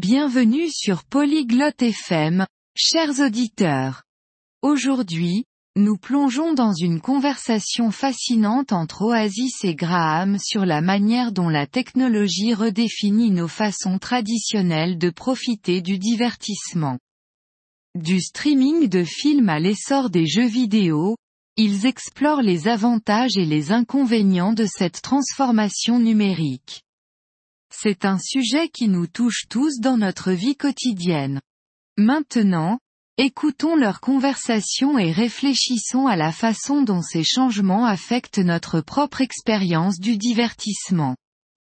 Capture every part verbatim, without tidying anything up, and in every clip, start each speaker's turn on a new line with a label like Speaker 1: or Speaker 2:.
Speaker 1: Bienvenue sur Polyglotte F M, chers auditeurs. Aujourd'hui, nous plongeons dans une conversation fascinante entre Oasis et Graham sur la manière dont la technologie redéfinit nos façons traditionnelles de profiter du divertissement. Du streaming de films à l'essor des jeux vidéo, ils explorent les avantages et les inconvénients de cette transformation numérique. C'est un sujet qui nous touche tous dans notre vie quotidienne. Maintenant, écoutons leur conversation et réfléchissons à la façon dont ces changements affectent notre propre expérience du divertissement.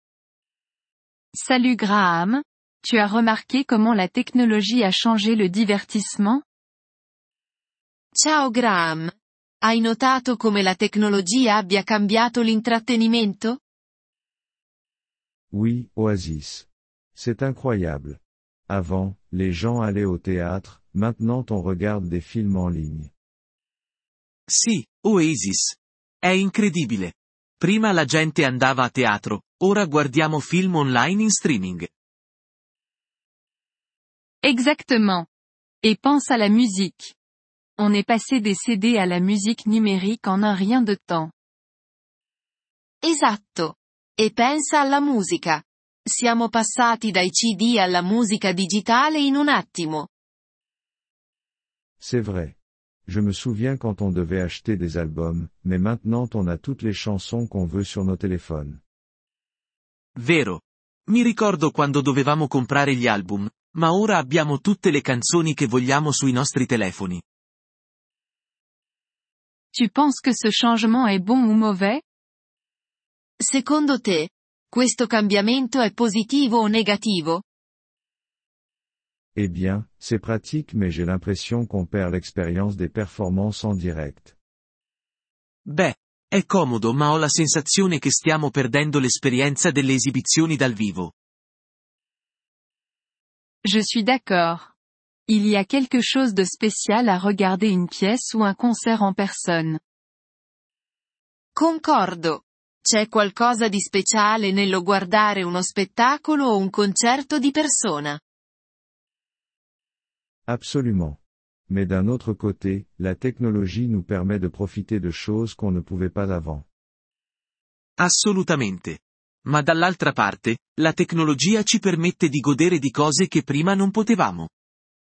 Speaker 1: Salut Graham, tu as remarqué comment la technologie a changé le divertissement?
Speaker 2: Ciao Graham. Hai notato come la tecnologia abbia cambiato l'intrattenimento?
Speaker 3: Oui, Oasis. C'est incroyable. Avant, les gens allaient au théâtre, maintenant on regarde des films en ligne.
Speaker 4: Sì, Oasis. È incredibile. Prima la gente andava a teatro, ora guardiamo film online in streaming.
Speaker 1: Exactement. Et pense à la musique. On est passé des C D à la musique numérique en un rien de temps.
Speaker 2: Esatto. E pensa alla musica. Siamo passati dai C D alla musica digitale in un attimo.
Speaker 3: C'est vrai. Je me souviens quand on devait acheter des albums, mais maintenant on a toutes les chansons qu'on veut sur nos téléphones.
Speaker 4: Vero. Mi ricordo quando dovevamo comprare gli album, ma ora abbiamo tutte le canzoni che vogliamo sui nostri telefoni.
Speaker 1: Tu penses que ce changement est bon ou mauvais?
Speaker 2: Secondo te, questo cambiamento è positivo o negativo?
Speaker 3: Eh bien, c'est pratique mais j'ai l'impression qu'on perd l'expérience des performances en direct.
Speaker 4: Beh, è comodo ma ho la sensazione che stiamo perdendo l'esperienza delle esibizioni dal vivo.
Speaker 1: Je suis d'accord. Il y a quelque chose de spécial à regarder une pièce ou un concert en personne.
Speaker 2: Concordo. C'è qualcosa di speciale nello guardare uno spettacolo o un concerto di persona.
Speaker 3: Absolument. Mais d'un autre côté, la technologie nous permet de profiter de choses qu'on ne pouvait pas avant.
Speaker 4: Assolutamente. Ma dall'altra parte, la tecnologia ci permette di godere di cose che prima non potevamo.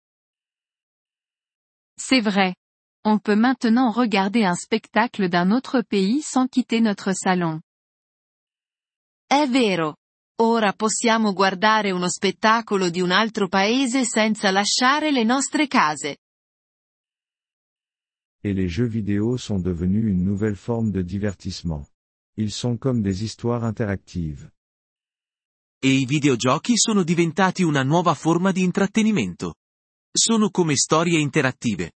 Speaker 1: C'est vrai. On peut maintenant regarder un spectacle d'un autre pays sans quitter notre salon.
Speaker 2: È vero. Ora possiamo guardare uno spettacolo di un altro paese senza lasciare le nostre case.
Speaker 3: Et les jeux vidéo sont devenus une nouvelle forme de divertissement. Ils sont comme des histoires interactives.
Speaker 4: E i videogiochi sono diventati una nuova forma di intrattenimento. Sono come storie interattive.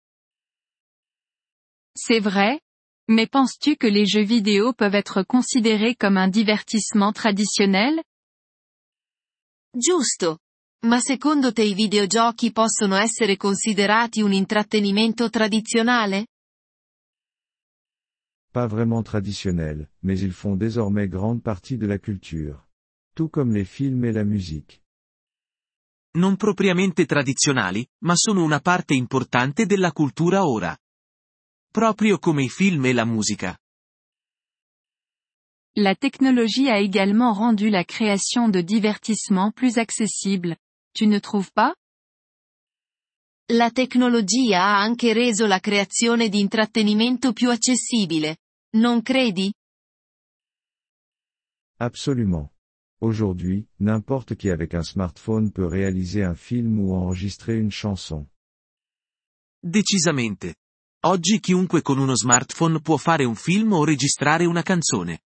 Speaker 1: C'est vrai? Mais penses-tu que les jeux vidéo peuvent être considérés comme un divertissement traditionnel?
Speaker 2: Giusto. Ma secondo te i videogiochi possono essere considerati un intrattenimento tradizionale?
Speaker 3: Pas vraiment traditionnels, mais ils font désormais grande partie de la culture. Tout comme les films et la musique.
Speaker 4: Non propriamente tradizionali, ma sono una parte importante della cultura ora. Proprio come i film e la musica.
Speaker 1: La technologie a également rendu la création de divertissement plus accessible. Tu ne trouves pas?
Speaker 2: La tecnologia ha anche reso la creazione di intrattenimento più accessibile. Non credi?
Speaker 3: Absolument. Aujourd'hui, n'importe qui avec un smartphone peut réaliser un film ou enregistrer une chanson.
Speaker 4: Decisamente. Oggi chiunque con uno smartphone può fare un film o registrare una canzone.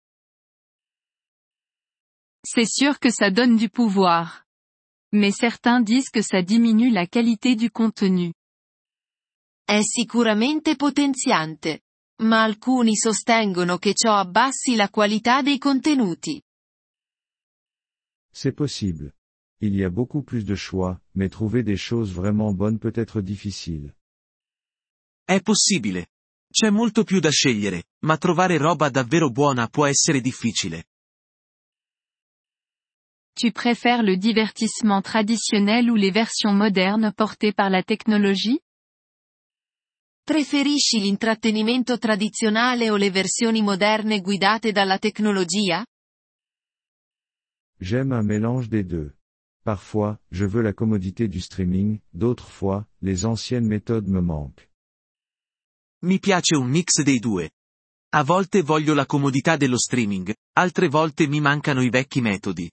Speaker 1: C'est sûr que ça donne du pouvoir. Mais certains disent que ça diminue la qualité du contenu.
Speaker 2: È sicuramente potenziante. Ma alcuni sostengono che ciò abbassi la qualità dei contenuti.
Speaker 3: C'est possible. Il y a beaucoup plus de choix, mais trouver des choses vraiment bonnes peut être difficile.
Speaker 4: È possibile. C'è molto più da scegliere, ma trovare roba davvero buona può essere difficile.
Speaker 1: Tu préfères le divertissement traditionnel ou les versions modernes portées par la technologie?
Speaker 2: Preferisci l'intrattenimento tradizionale o le versioni moderne guidate dalla tecnologia?
Speaker 3: J'aime un mélange des deux. Parfois, je veux la commodité du streaming, d'autres fois, les anciennes méthodes me manquent.
Speaker 4: Mi piace un mix dei due. A volte voglio la comodità dello streaming, altre volte mi mancano i vecchi metodi.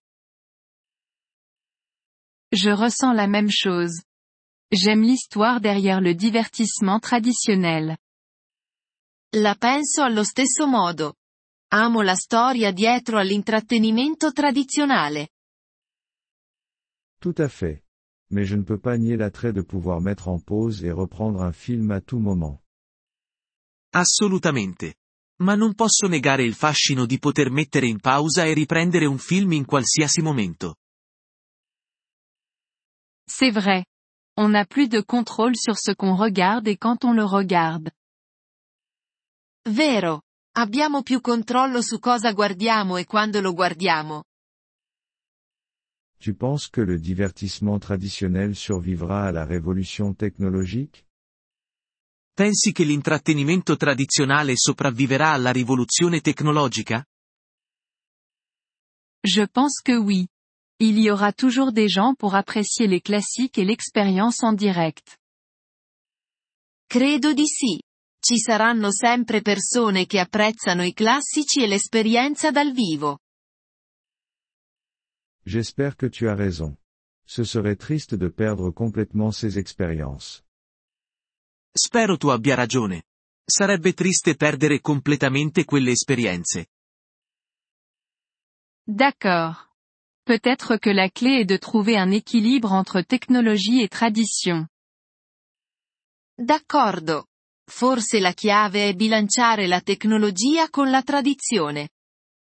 Speaker 1: Je ressens la même chose. J'aime l'histoire derrière le divertissement traditionnel.
Speaker 2: La penso allo stesso modo. Amo la storia dietro all'intrattenimento tradizionale.
Speaker 3: Tout à fait. Mais je ne peux pas nier l'attrait de pouvoir mettre en pause et reprendre un film à tout moment.
Speaker 4: Assolutamente. Ma non posso negare il fascino di poter mettere in pausa e riprendere un film in qualsiasi momento.
Speaker 1: C'est vrai. On n'a plus de contrôle sur ce qu'on regarde et quand on le regarde.
Speaker 2: Vero. Abbiamo più controllo su cosa guardiamo e quando lo guardiamo.
Speaker 3: Tu penses que le divertissement traditionnel survivra à la révolution technologique?
Speaker 4: Pensi che l'intrattenimento tradizionale sopravviverà alla rivoluzione tecnologica?
Speaker 1: Je pense que oui. Il y aura toujours des gens pour apprécier les classiques et l'expérience en direct.
Speaker 2: Credo di sì. Ci saranno sempre persone che apprezzano i classici e l'esperienza dal vivo.
Speaker 3: J'espère que tu as raison. Ce serait triste de perdre complètement ces expériences.
Speaker 4: Spero tu abbia ragione. Sarebbe triste perdere completamente quelle esperienze.
Speaker 1: D'accord. Peut-être que la clé est de trouver un équilibre entre technologie et tradition.
Speaker 2: D'accordo. Forse la chiave è bilanciare la tecnologia con la tradizione.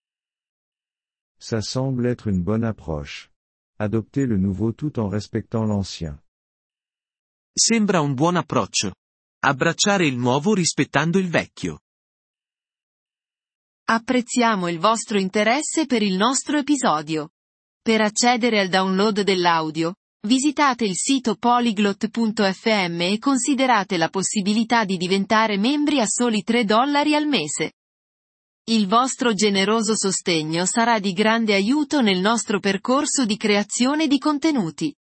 Speaker 3: Ça semble être une bonne approche. Adopter le nouveau tout en respectant l'ancien.
Speaker 4: Sembra un buon approccio. Abbracciare il nuovo rispettando il vecchio.
Speaker 2: Apprezziamo il vostro interesse per il nostro episodio. Per accedere al download dell'audio, visitate il sito polyglot punto effe emme e considerate la possibilità di diventare membri a soli tre dollari al mese. Il vostro generoso sostegno sarà di grande aiuto nel nostro percorso di creazione di contenuti.